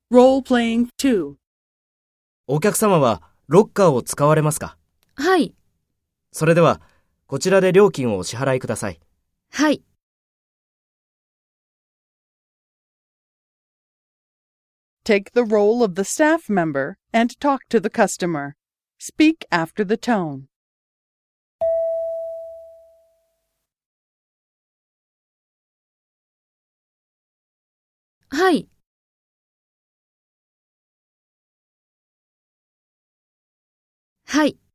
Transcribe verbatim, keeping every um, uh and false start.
Role-playing two. お客様はロッカーを使われますか？ はい。 それでは、こちらで料金をお支払いください。 はい。 Take the role of the staff member and talk to the customer. Speak after the tone. はい。はい。